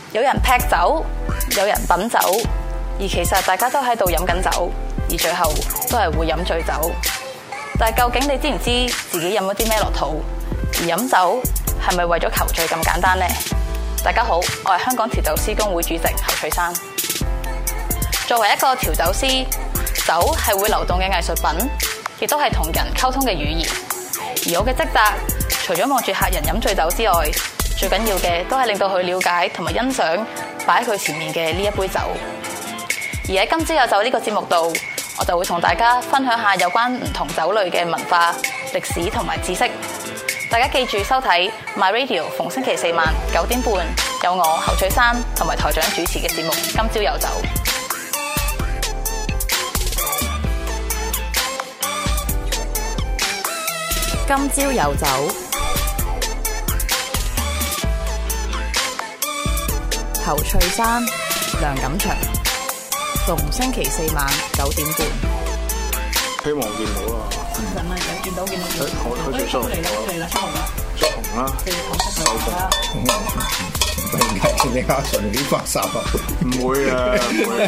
有人劈酒，有人品酒，而其實大家都喺度飲緊酒，而最後都係會飲醉酒。但係究竟你知唔知自己飲咗啲咩落肚？而飲酒係咪為咗求醉咁簡單呢？大家好，我係香港調酒師公會主席侯翠珊。作為一個調酒師，酒係會流動嘅藝術品，亦都係同人溝通嘅語言。而我嘅職責，除咗望住客人飲醉酒之外，最緊要嘅都係令到佢了解同埋欣賞擺喺佢前面嘅呢一杯酒。而喺今朝有酒呢個節目度，我就會同大家分享下有關唔同酒類嘅文化、歷史同埋知識。大家記住收睇 My Radio， 逢星期四晚9點半，有我侯翠珊同埋台長主持嘅節目《今朝有酒》。今朝有酒，侯翠珊、梁錦祥，逢星期四晚9點半。 希望見到啦。 真係見到。 佢最衰嚟啦，出紅啦。 出紅啦。 收紅啦。 突然間你阿順啲發殺啊！ 唔會啊，唔會。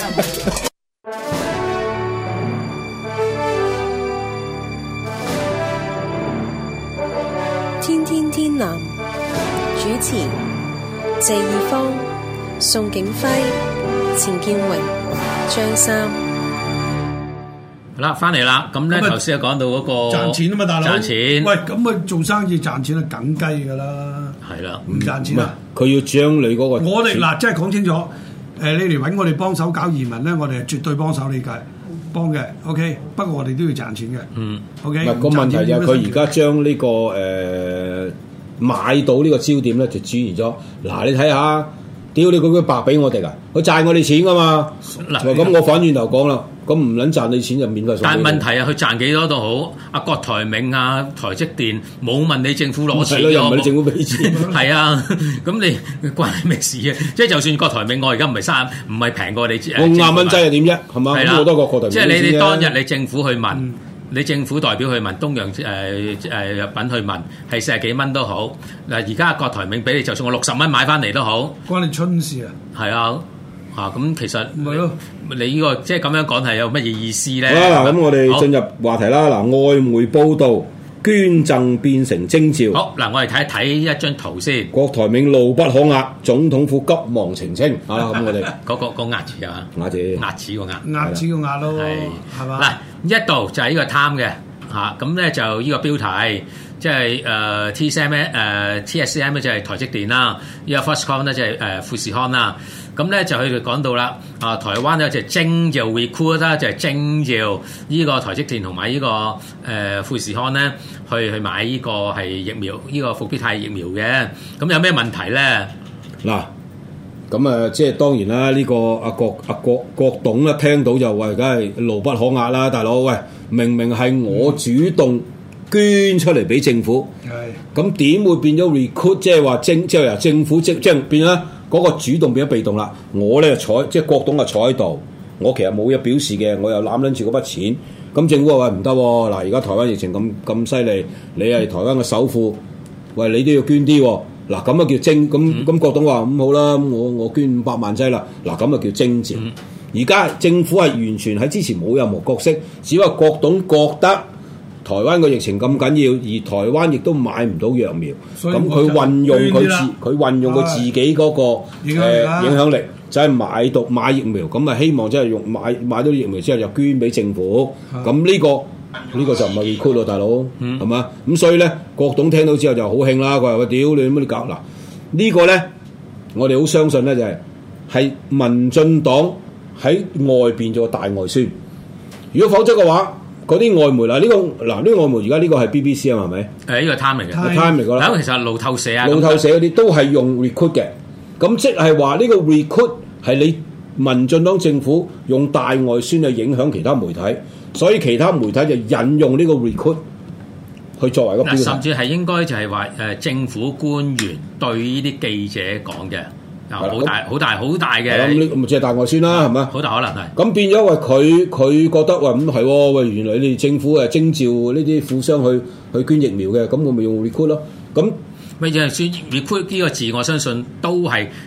天天天藍主持謝義方、宋景輝、錢建榮、張三。 好啦，翻嚟啦，咁咧頭先講到嗰個賺錢啊嘛，大佬。 賺錢。 喂，咁啊做生意賺錢係梗雞㗎啦。 係啦， 唔賺錢啊！ 佢要將你嗰個我哋嗱，即係講清楚。你嚟揾我哋幫手搞移民咧，我哋係絕對幫手理解幫嘅。OK，不過我哋都要賺錢嘅。OK。 唔係個問題就係佢而家將呢個買到呢個焦點咧，就轉移咗。嗱，你睇下，屌你佢白俾我哋啊！佢賺我哋錢㗎嘛。嗱，咁我反轉頭講啦。咁唔撚賺你錢就免費送。 但係問題啊，佢賺幾多都好，阿郭台銘啊、台積電冇問你政府攞錢， 又唔係你政府俾錢。 係啊，咁你關你咩事啊？即係就算郭台銘，我而家唔係平過你。 我5蚊劑係點啫？係嘛？咁好多個郭台銘。 即係你當日你政府去問，你政府代表去問東洋藥品去問，係40幾蚊都好。嗱，而家郭台銘俾你，就算我60蚊買翻嚟都好， 關你春事啊！ 係啊。咁其實咪咯， 你呢個即係咁樣講係有乜嘢意思咧？ 好啦，嗱，咁我哋進入話題啦。嗱，外媒報道捐贈變成徵召。 好，嗱，我哋睇一睇一張圖先。 郭台銘怒不可壓，總統府急忙澄清。啊，咁我哋嗰個壓字啊， 壓字個壓， 壓字個壓咯，係嘛？ 嗱，一度就係呢個貪嘅嚇，咁咧就呢個標題。即係TSM 咧就係台積電啦，呢個 Foxconn 咧就係富士康啦。咁咧就佢哋講到啦，台灣咧就徵召 recruit 啦，就係徵召呢個台積電同埋呢個富士康咧去買呢個係疫苗，呢個復必泰疫苗嘅。咁有咩問題咧？ 嗱，咁即係當然啦，呢個阿郭董咧聽到就話，梗係怒不可壓啦，大佬喂，明明係我主動捐出嚟俾政府，咁點會變咗 recruit？即係話即係由政府即係變啦，嗰個主動變咗被動啦。我咧就即係郭董啊坐喺度，我其實冇嘢表示嘅，我又攬撚住嗰筆錢。咁政府話喂唔得喎，嗱而家台灣疫情咁犀利，你係台灣嘅首富，喂你都要捐啲喎。嗱咁啊叫徵咁郭董話咁好啦，我捐500萬劑啦。嗱咁啊叫徵召。而家政府係完全喺之前冇任何角色，只不過郭董覺得台灣個疫情咁緊要，而台灣亦都買唔到藥苗，咁佢運用佢自己嗰個影響力，就係買疫苗，咁啊希望即係用買到疫苗之後就捐俾政府，咁呢個就唔係 recruit 咯，大佬係嘛？咁所以咧，郭董聽到之後就好興啦，佢話：喂，屌你乜你搞嗱？呢個咧，我哋好相信咧就係民進黨喺外邊做個大外宣，如果否則嘅話。嗰啲外媒呢個外媒而家呢個係 BBC 啊，係咪？ 呢個 Time 嚟嘅 ，Time 嚟㗎啦。 咁其實路透社啊， 路透社嗰啲都係用 recruit 嘅，咁即係話呢個 recruit 係你民進黨政府用大外宣去影響其他媒體，所以其他媒體就引用呢個 recruit 去作為個標題。 甚至係應該就係話政府官員對呢啲記者講嘅。好大嘅， 咁咪即係大外宣啦，係咪？ 好大可能係。咁變咗為佢覺得喂咁係喎，喂原來你哋政府徵召呢啲富商去捐疫苗嘅，咁我咪用 recruit 咯。咁咪就係算 recruit 呢個字，我相信都係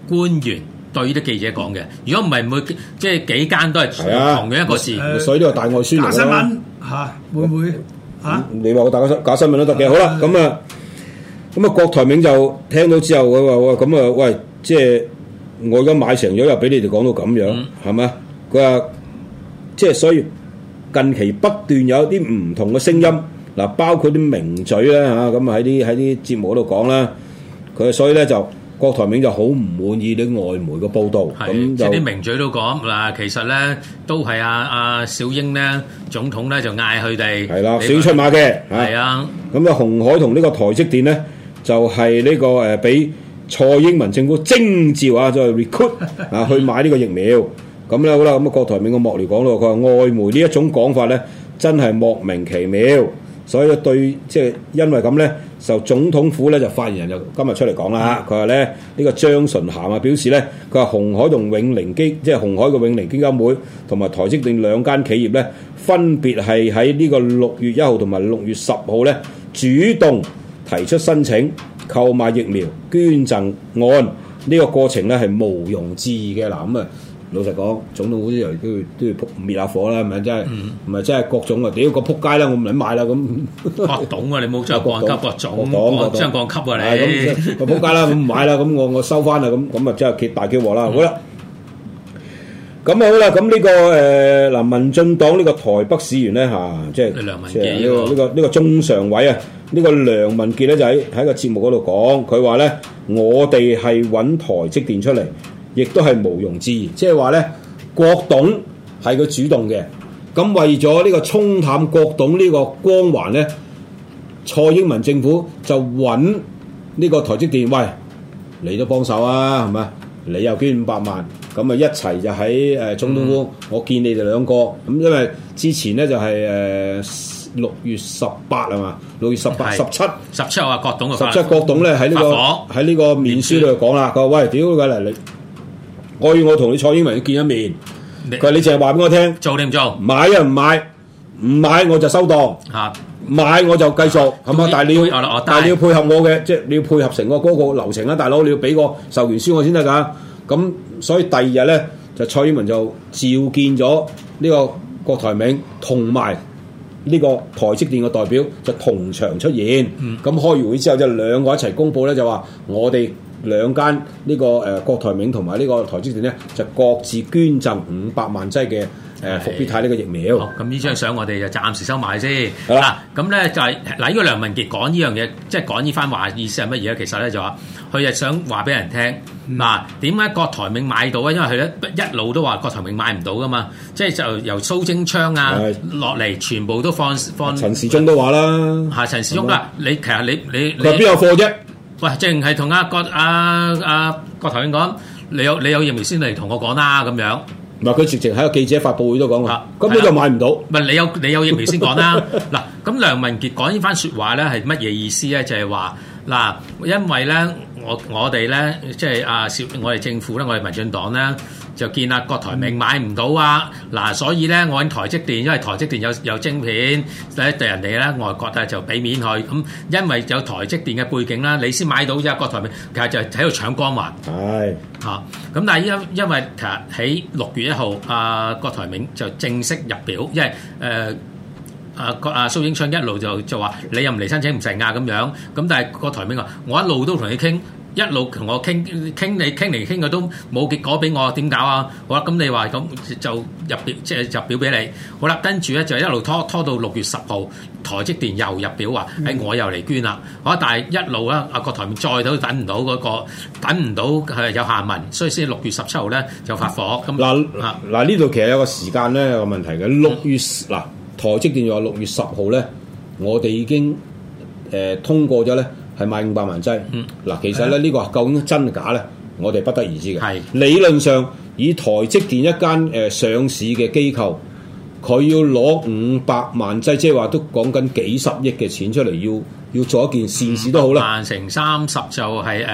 官員對啲記者講嘅。如果唔係，每即係幾間都係同樣一個字。 所以呢個大外宣嚟假新聞嚇會唔會嚇？ 你話我大假新聞都得嘅。好啦，咁啊，郭台銘就聽到之後，佢話：咁啊，喂，即係我而家買成咗，又俾你哋講到咁樣，係咪？佢話即係所以近期不斷有啲唔同嘅聲音，嗱，包括啲名嘴啦嚇，咁啊喺啲節目嗰度講啦，佢所以咧就郭台銘就好唔滿意啲外媒嘅報導，咁即係啲名嘴都講嗱，其實咧都係阿小英咧總統咧就嗌佢哋係啦，小英出馬嘅， 係啊， 咁啊鴻海同呢個台積電咧就係呢個誒俾蔡英文政府徵召啊，就係 recruit 啊去買呢個疫苗。咁咧好啦，咁啊郭台銘個幕僚講到，佢話外媒呢一種講法咧，真係莫名其妙，所以對即係因為咁咧，就總統府咧就發言人就今日出嚟講啦，佢話咧呢個張純涵啊表示咧，佢話鴻海同永寧即係鴻海嘅永寧基金會同埋台積電兩間企業咧，分別係喺呢個6月1號同埋6月10號咧主動提出申請購買疫苗捐贈案，呢個過程咧係毋庸置疑嘅。嗱咁啊。老實講，總統府啲人都要滅下火啦，係咪真係？唔係真係各種啊！屌個撲街啦，我唔撚買啦咁。 各種啊！你冇將降級各種，將降級啊你！ 咁個撲街啦，咁唔買啦，咁我收翻啦，咁啊真係大叫禍啦！好啦，咁啊好啦，咁呢個嗱民進黨呢個台北市員咧嚇，即係梁文傑呢個中常委啊，呢個梁文傑咧就喺個節目嗰度講，佢話咧我哋係揾台積電出嚟。亦都係毋庸置疑，即係話咧，郭董係佢主動嘅。咁為咗呢個沖淡郭董呢個光環咧，蔡英文政府就揾呢個台積電，喂，你都幫手啊，係咪？你又捐500萬，咁啊一齊就喺總統府，我見你哋兩個。咁因為之前咧就係6月18係嘛，6月18、17 號啊，郭董 17郭董咧喺呢個面書度講啦，佢話喂，屌佢嚟你！我要我同你蔡英文見一面，佢話你淨係話俾我聽， 做定唔做？ 買啊唔買，唔買我就收檔，買我就繼續，係嘛？但係你要配合我嘅，即係你要配合成個嗰個流程啊，大佬你要俾個授權書我先得㗎。咁所以第二日咧，就蔡英文就召見咗呢個郭台銘同埋呢個台積電嘅代表，就同場出現。咁開完會之後，就兩個一齊公佈咧，就話我哋。兩間呢個郭台銘同埋呢個台積電咧，就各自捐贈500萬劑嘅復必泰呢個疫苗。 好，咁呢張相我哋就暫時收埋先。嗱，咁咧就係嗱，呢個梁文傑講呢樣嘢，即係講呢番話意思係乜嘢咧？其實咧就話，佢係想話俾人聽，嗱，點解郭台銘買到啊？因為佢咧一路都話郭台銘買唔到噶嘛，即係就由蘇貞昌啊落嚟，全部都放。 陳時中都話啦， 係陳時中啦，你其實你佢邊有貨啫？ 喂，淨係同郭台銘講，你有疫苗先嚟同我講啦，咁樣。 唔係佢直情喺個記者發佈會都講話，根本就買唔到。 唔係你有疫苗先講啦。嗱，咁梁文傑講呢番説話咧係乜嘢意思咧？就係話嗱，因為咧我哋咧即係我哋政府咧，我哋民進黨咧就見郭台銘買唔到啊。嗱，所以咧我揾台積電，因為台積電有晶片，對人哋咧外國咧就俾面佢。咁因為有台積電嘅背景啦，你先買到啫。郭台銘其實就喺度搶光環。係嚇，咁但係因為其實喺6月1號，郭台銘就正式入表，因為蘇英昌一路就話你又唔嚟申請唔成啊咁樣。咁但係郭台銘話我一路都同你傾。一路同我傾嚟傾去都冇結果俾我，點搞啊？好啦，咁你話咁就入表，即係入表俾你。好啦，跟住咧就一路拖到6月10號，台積電又入表話，我又嚟捐啦。好，但係一路咧，郭台銘再都等唔到係有下文，所以先6月17號咧就發火。咁嗱呢度其實有個時間咧有個問題嘅。6月嗱台積電又話6月10號咧，我哋已經通過咗咧。係買500萬劑，嗱，其實咧呢個究竟真假咧，我哋不得而知嘅。理論上，以台積電一間上市嘅機構，佢要攞500萬劑，即係話都講緊幾十億嘅錢出嚟，要做一件善事都好啦。 萬乘30就係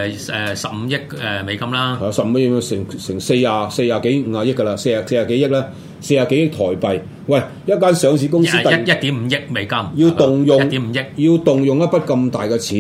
15億美金啦。 係15億成40幾50億㗎啦，40幾億啦，40幾億台幣。喂，一間上市公司1.5 億美金， 要動用 1.5億， 要動用一筆咁大嘅錢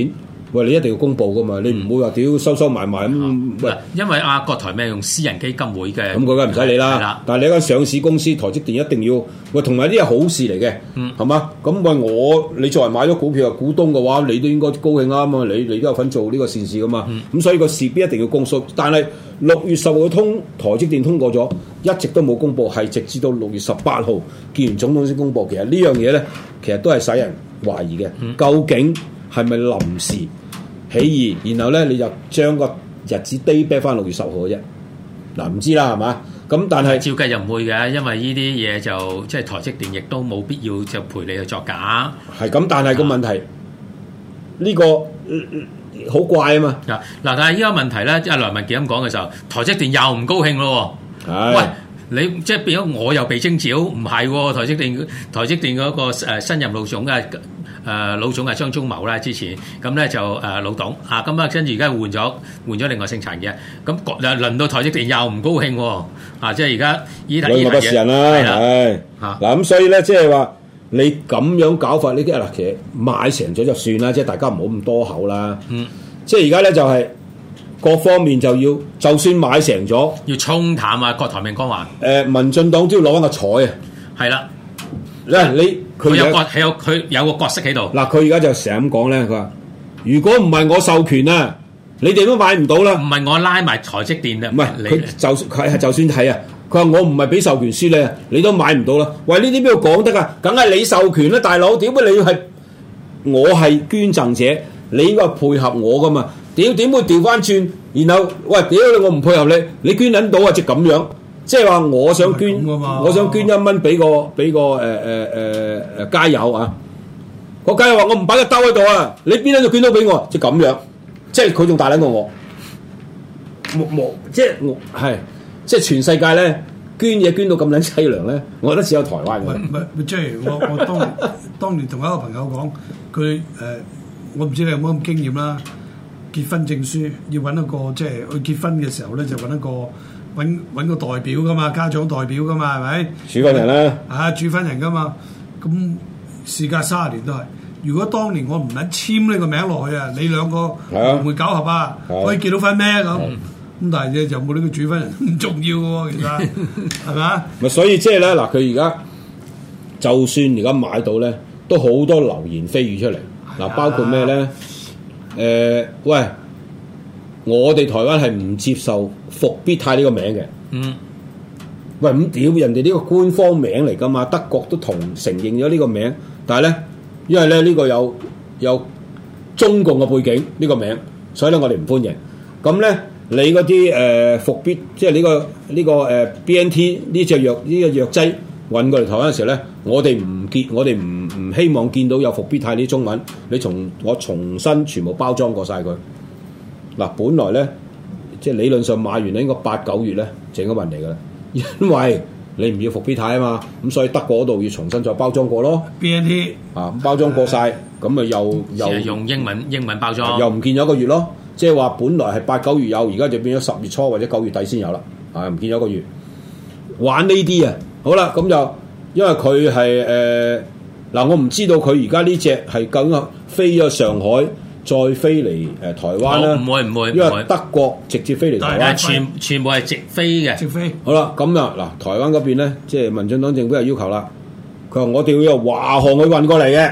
喂，你一定要公佈噶嘛，你唔會話屌收埋咁。喂， 因為國台咩用私人基金會嘅， 咁佢梗係唔使理係啦啦。 但係你一間上市公司，台積電一定要喂，同埋呢啲係好事嚟嘅，係嘛？咁喂你作為買咗股票嘅股東嘅話，你都應該高興啊嘛！你都有份做呢個善事噶嘛。咁所以個事必一定要公佈。但係6月10號台積電通過咗，一直都冇公佈，係直至到6月18號見完總統先公佈。其實呢樣嘢咧，其實都係使人懷疑嘅，究竟係咪臨時起義？然後咧你就將個日子 day back 翻6月10號嘅啫。嗱，唔知啦，係嘛？咁但係照計就唔會嘅，因為呢啲嘢就即係台積電亦都冇必要就陪你去作假。 係咁，但係個問題呢個好怪啊嘛。 嗱，但係依個問題咧，阿梁文傑咁講嘅時候，台積電又唔高興咯喎。 係喂，你即係變咗我又被徵召，唔係喎？台積電嗰個新任老總嘅老總係張忠謀啦，之前咁咧就老董啊，咁啊跟住而家換咗另外姓陳嘅，咁輪到台積電又唔高興喎。啊，即係而家兩個不是人啦，係嗱咁，所以咧即係話你咁樣搞法呢啲嗱，其實買成咗就算啦，即係大家唔好咁多口啦。即係而家咧就係各方面就要，就算買成咗， 要沖淡啊郭台銘光環。 民進黨都要攞翻個彩啊。 係啦， 佢有個角色喺度。 嗱，佢而家就成日咁講咧，佢話如果唔係我授權啊，你哋都買唔到啦。 唔係我拉埋台積電啊， 唔係佢就算係啊，佢話我唔係俾授權書你啊，你都買唔到啦。喂，呢啲邊度講得啊？梗係你授權啦，大佬。點解你要係我係捐贈者，你應該配合我噶嘛？點會調翻轉？然後喂，屌你，我唔配合你，你捐撚到啊？即係咁樣，即係話我想捐1蚊俾個街友啊！個街友話我唔擺個兜喺度啊，你邊撚度捐到俾我？即係咁樣，即係佢仲大撚過我，即係我係即係全世界咧捐嘢捐到咁撚凄涼咧，我覺得只有台灣嘅。 唔係，即係我當年同一個朋友講，佢我唔知你有冇咁經驗啦。結婚證書要揾一個，即係去結婚嘅時候咧，就揾個代表噶嘛，家長代表噶嘛，係咪？ 主婚人啦， 主婚人噶嘛。咁事隔30年都係。如果當年我唔撚簽呢個名落去啊，你兩個會唔會搞合啊？可以結到婚咩咁？咁但係就冇呢個主婚人唔重要喎，其實係咪啊？ 咪所以即係咧嗱，佢而家就算而家買到咧，都好多流言蜚語出嚟嗱，包括咩咧？喂，我哋台灣係唔接受復必泰呢個名嘅。喂，咁屌人哋呢個官方名嚟噶嘛？德國都承認咗呢個名，但係咧，因為咧呢個有中共嘅背景呢個名，所以咧我哋唔歡迎。咁咧，你嗰啲復必，即係呢個BNT 呢隻藥劑運過嚟台灣嘅時候咧，我哋唔希望見到有復必泰啲中文，我重新全部包裝過晒佢。嗱，本來咧即係理論上買完咧應該8、9月咧就應該運嚟㗎啦，因為你唔要復必泰啊嘛，咁所以德國嗰度要重新再包裝過咯。 BNT 包裝過晒，咁咪又用英文包裝， 又唔見咗1個月咯。即係話本來係8、9月有，而家就變咗10月初或者9月底先有啦。唔見咗1個月，玩呢啲啊！好啦，咁就因為佢係我唔知道佢而家呢隻係究竟飛咗上海，再飛嚟台灣啦。 唔會， 因為德國直接飛嚟台灣， 全部係直飛嘅。直飛。 好啦，咁啊嗱，台灣嗰邊咧，即係民進黨政府又要求啦，佢話我哋要由華航去運過嚟嘅，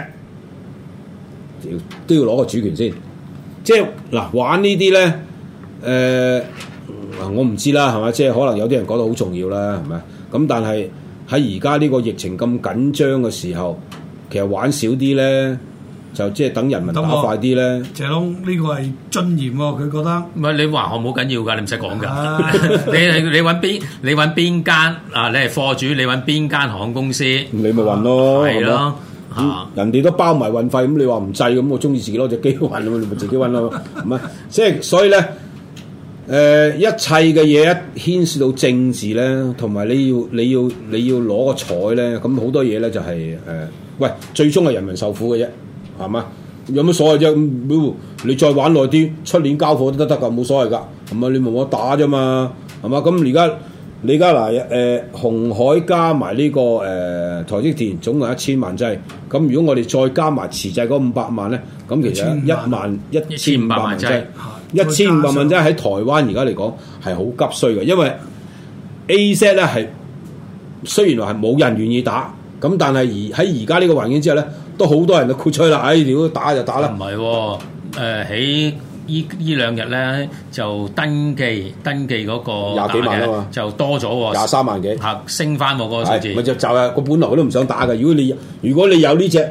都要攞個主權先。即係嗱，玩呢啲咧，我唔知啦，係咪？即係可能有啲人覺得好重要啦，係咪？咁但係喺而家呢個疫情咁緊張嘅時候，其實玩少啲咧，就即係等人民打快啲咧。 謝龍呢個係尊嚴喎，佢覺得。 唔係你華航冇緊要㗎，你唔使講㗎。你揾邊間啊？你係貨主，你揾邊間航空公司， 你咪運咯。係咯。人哋都包埋運費，咁你話唔制咁，我中意自己攞隻機運，你咪自己運咯，係咪？即係所以咧，一切嘅嘢一牽涉到政治咧，同埋你要攞個彩咧，咁好多嘢咧就係喂，最終係人民受苦嘅啫，係嘛？有乜所謂啫？你再玩耐啲，出年交貨都得㗎，冇所謂㗎，係咪？你冇我打啫嘛，係嘛？咁而家你而家嗱紅海加埋呢、個台積電總共1000萬劑，咁如果我哋再加埋遲滯嗰500萬咧，咁其實11500萬劑，1500萬劑喺台灣而家嚟講係好急需嘅，因為 AZ 咧係雖然話係冇人願意打，咁但係喺而家呢個環境之下咧，都好多人都豁出啦，如果打就打啦。 唔係喎，喺呢兩日咧就登記嗰個 20幾萬啊嘛， 就多咗喎 ，23萬幾， 升翻喎個數字。 咪就係佢本來佢都唔想打嘅。如果你有呢隻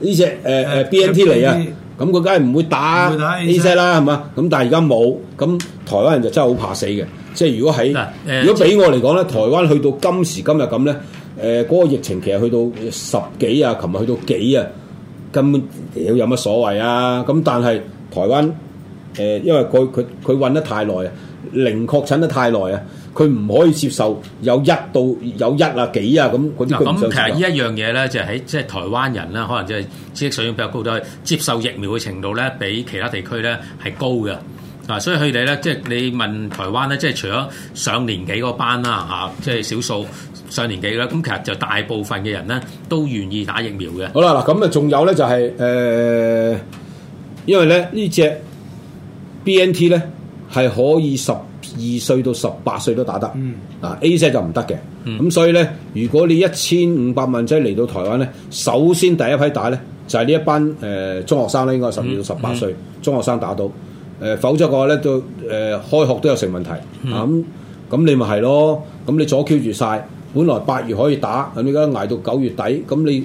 BNT 嚟啊，咁佢梗係唔會打 AZ 啦，係嘛？咁但係而家冇，咁台灣人就真係好怕死嘅。即係如果俾我嚟講咧，台灣去到今時今日咁咧，嗰個疫情其實去到10幾啊，琴日去到幾啊，根本有乜所謂啊？咁但係台灣。因為佢韞得太耐啊，零確診得太耐啊，佢唔可以接受有1到有1啊幾啊咁嗰啲。 咁其實呢一樣嘢咧，就喺即係台灣人啦，可能即係知識水平比較高，都係接受疫苗嘅程度咧，比其他地區咧係高嘅。嗱，所以佢哋咧，即係你問台灣咧，即係除咗上年紀嗰班啦嚇，即係少數上年紀啦，咁其實就大部分嘅人咧都願意打疫苗嘅。 好啦，嗱咁啊，仲有咧就係因為咧呢隻。BNT 咧係可以12歲到18歲都打得，AZ 就唔得嘅。咁所以咧，如果你1500萬劑嚟到台灣咧，首先第一批打咧就係呢一班中學生咧，應該12到18歲中學生打到，否則嘅話咧都開學都有成問題。咁你咪係咯，咁你阻 Q 住晒，本來8月可以打，咁而家捱到9月底，咁你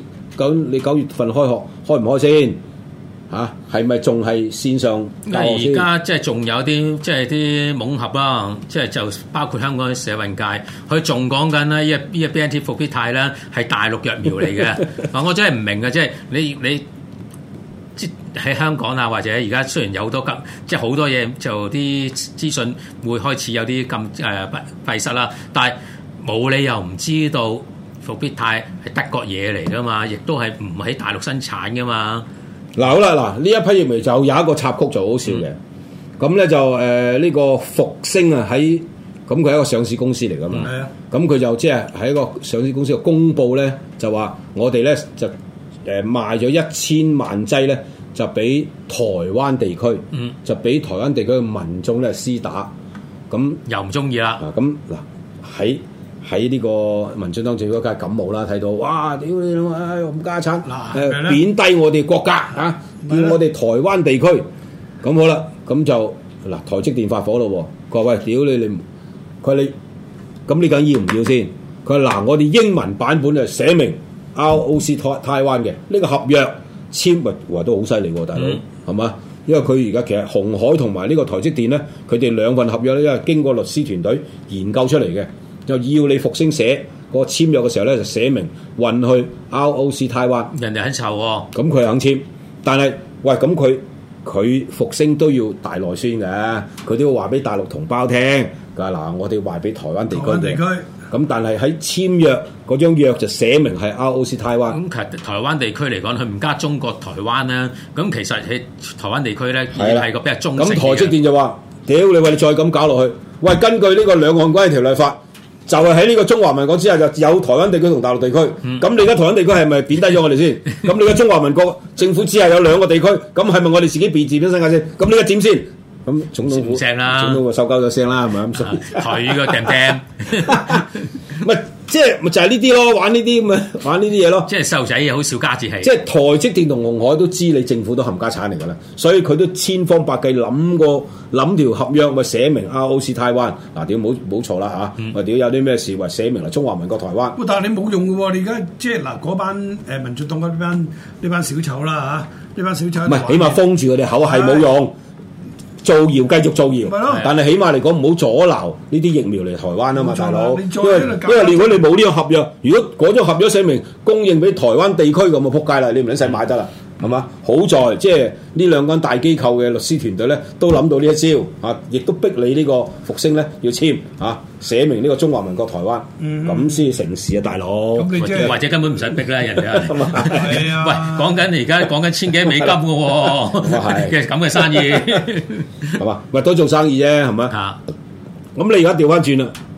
9月份開學開唔開先？係咪仲係線上教學先？ 而家即係仲有啲即係啲懵俠啦，即係就包括香港嘅社運界，佢仲講緊咧，呢個 BNT 復必泰咧係大陸疫苗嚟嘅。我真係唔明嘅，即係你即喺香港啊，或者而家雖然有好多即係好多嘢就啲資訊會開始有啲咁閉塞啦，但係冇理由唔知道復必泰係德國嘢嚟噶嘛，亦都係唔喺大陸生產噶嘛。 嗱好啦，嗱呢一批疫苗就有一個插曲就好笑嘅，咁咧就呢個復星啊喺咁佢係一個上市公司嚟噶嘛，咁佢就即係喺一個上市公司嘅公佈咧，就話我哋咧就賣咗1000萬劑咧，就俾台灣地區，就俾台灣地區嘅民眾咧施打，咁又唔中意啦。 咁嗱喺呢個民進黨政府梗係感冒啦，睇到哇屌你老母咁家產，貶低我哋國家嚇，叫我哋台灣地區，咁好啦，咁就嗱台積電發火咯喎，佢話喂屌你，佢話你咁你究竟要唔要先？佢話嗱我哋英文版本就寫明 ROC 台灣嘅呢個合約簽咪話都好犀利喎，大佬係嘛？因為佢而家其實鴻海同埋呢個台積電咧，佢哋兩份合約咧，因為經過律師團隊研究出嚟嘅。就要你復星寫個簽約嘅時候咧，就寫明運去 ROC 台灣， 人哋肯籌喎， 咁佢肯簽，但係喂咁佢復星都要大內宣嘅，佢都要話俾大陸同胞聽，佢話嗱我哋話俾台灣地區嘅，咁但係喺簽約嗰張約就寫明係 ROC 台灣。 咁其實台灣地區嚟講，佢唔加中國台灣啦，咁其實喺台灣地區咧，係個比較中性嘅。 咁台積電就話：屌你喂，你再咁搞落去，喂根據呢個兩岸關係條例法。就係喺呢個中華民國之下，就有台灣地區同大陸地區。咁你而家台灣地區係咪貶低咗我哋先？咁你而家中華民國政府只係有2個地區，咁係咪我哋自己自邊身價先？咁呢個點先？咁總統府聲啦， 總統個收鳩咗聲啦，係咪咁？ 台語個掟掟， 咪即係咪就係呢啲咯？玩呢啲咁啊，玩呢啲嘢咯。 即係細路仔好少家節氣。 即係台積電同鴻海都知你政府都冚家產嚟㗎啦，所以佢都千方百計諗條合約，咪寫明 ROC 台灣嗱，屌冇錯啦嚇，咪屌有啲咩事，咪寫明嚟中華民國台灣。 但係你冇用嘅喎，你而家即係嗱嗰班民進黨呢班小丑啦嚇，呢班小丑唔係起碼封住佢哋口係冇用。造謠繼續造謠，但係起碼嚟講唔好阻撓呢啲疫苗嚟台灣啊嘛，大佬。因為如果你冇呢個合約，如果嗰張合約寫明供應俾台灣地區咁啊，撲街啦！你唔使買得啦，係嘛？好在即係呢2間大機構嘅律師團隊咧，都諗到呢一招啊，亦都逼你呢個復星咧要簽啊，寫明呢個中華民國台灣，咁先成事啊，大佬。 或者根本唔使逼啦，人哋。喂，講緊而家講緊1000幾美金嘅喎，嘅咁嘅生意， 係嘛？喂，都做生意啫，係咪？咁你而家調翻轉啦，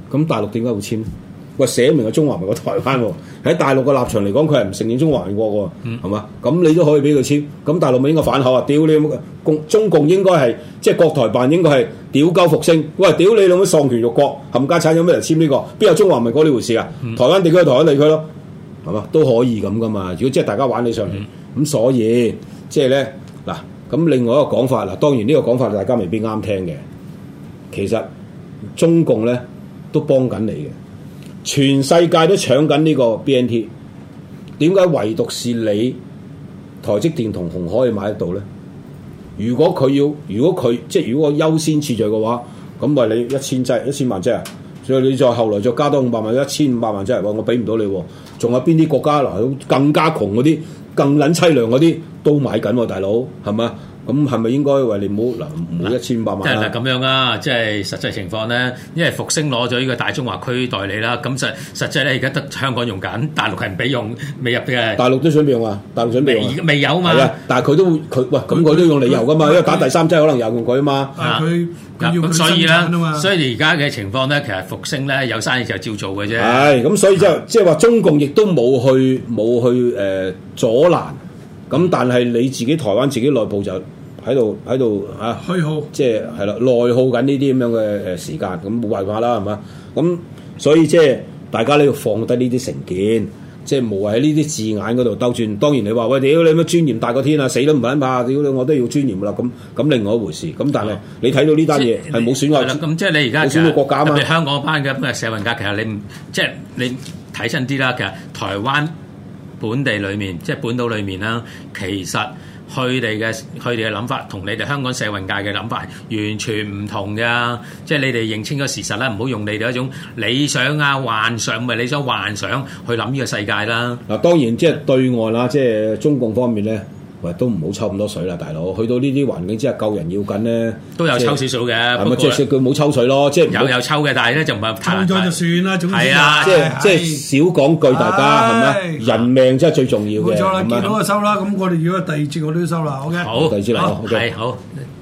咁大陸點解會簽？喂，寫明係中華民國台灣喎，喺大陸嘅立場嚟講，佢係唔承認中華民國喎，係嘛？咁你都可以俾佢簽，咁大陸咪應該反口啊？屌你中共應該係即係國台辦應該係屌鳩復星，喂，屌你老母喪權辱國，冚家產有咩人簽呢個？邊有中華民國呢回事啊？台灣地區係台灣地區咯，係嘛？都可以咁噶嘛？如果即係大家玩起上嚟，咁所以即係咧嗱，咁另外一個講法嗱，當然呢個講法大家未必啱聽嘅，其實中共咧都幫緊你嘅。全世界都搶緊呢個 BNT， 點解唯獨是你台積電同鴻海可以買得到咧？如果佢如果優先次序嘅話，咁為你1000萬劑啊！所以你再後來再加多500萬，1500萬劑，我俾唔到你喎。仲有邊啲國家嗱更加窮嗰啲、更撚凄涼嗰啲都買緊喎，大佬係咪？咁係咪應該為你唔好1500萬？ 即係咁樣啊！即係實際情況咧，因為復星攞咗呢個大中華區代理啦，咁實際咧而家得香港用緊，大陸係唔俾用，未入嘅。大陸都準備用啊！大陸準備用未有嘛？ 係啊，但係佢都用理由噶嘛，因為打第3劑可能有用佢啊嘛。 咁所以咧，所以而家嘅情況咧，其實復星咧有生意就照做嘅啫。 係咁，所以即係話中共亦都冇去阻攔，咁但係你自己台灣自己內部就喺度嚇虛耗， 即係啦，內耗緊呢啲咁樣嘅時間，咁冇辦法啦，係嘛？咁所以即係大家咧要放低呢啲成見，即係無謂喺呢啲字眼嗰度兜轉。當然你話喂，屌你乜尊嚴大過天啊，死都唔撚怕，屌你我都要尊嚴啦。咁另外一回事。咁但係你睇到呢單嘢係冇損害， 咁即係你而家冇損害國家啊嘛。 特別香港班嘅社運界，其實你睇真啲啦，其實台灣本地裏面即係本島裏面啦，其實佢哋嘅諗法同你哋香港社運界嘅諗法完全唔同㗎，即係你哋認清個事實啦，唔好用你哋一種理想啊幻想，唔係理想幻想去諗呢個世界啦。 嗱，當然即係對外啦，即係中共方面咧，喂都唔好抽咁多水啦，大佬。去到呢啲環境之下，救人要緊咧， 都有抽少少嘅。 係咪即係佢冇抽水咯？即係有抽嘅，但係咧就唔係抽咗就算啦。總之係啊， 即係少講句，大家係咪？人命真係最重要嘅。 冇錯啦，見到就收啦。咁我哋如果第二節我都要收啦。OK。 好，第二節嚟。 係好。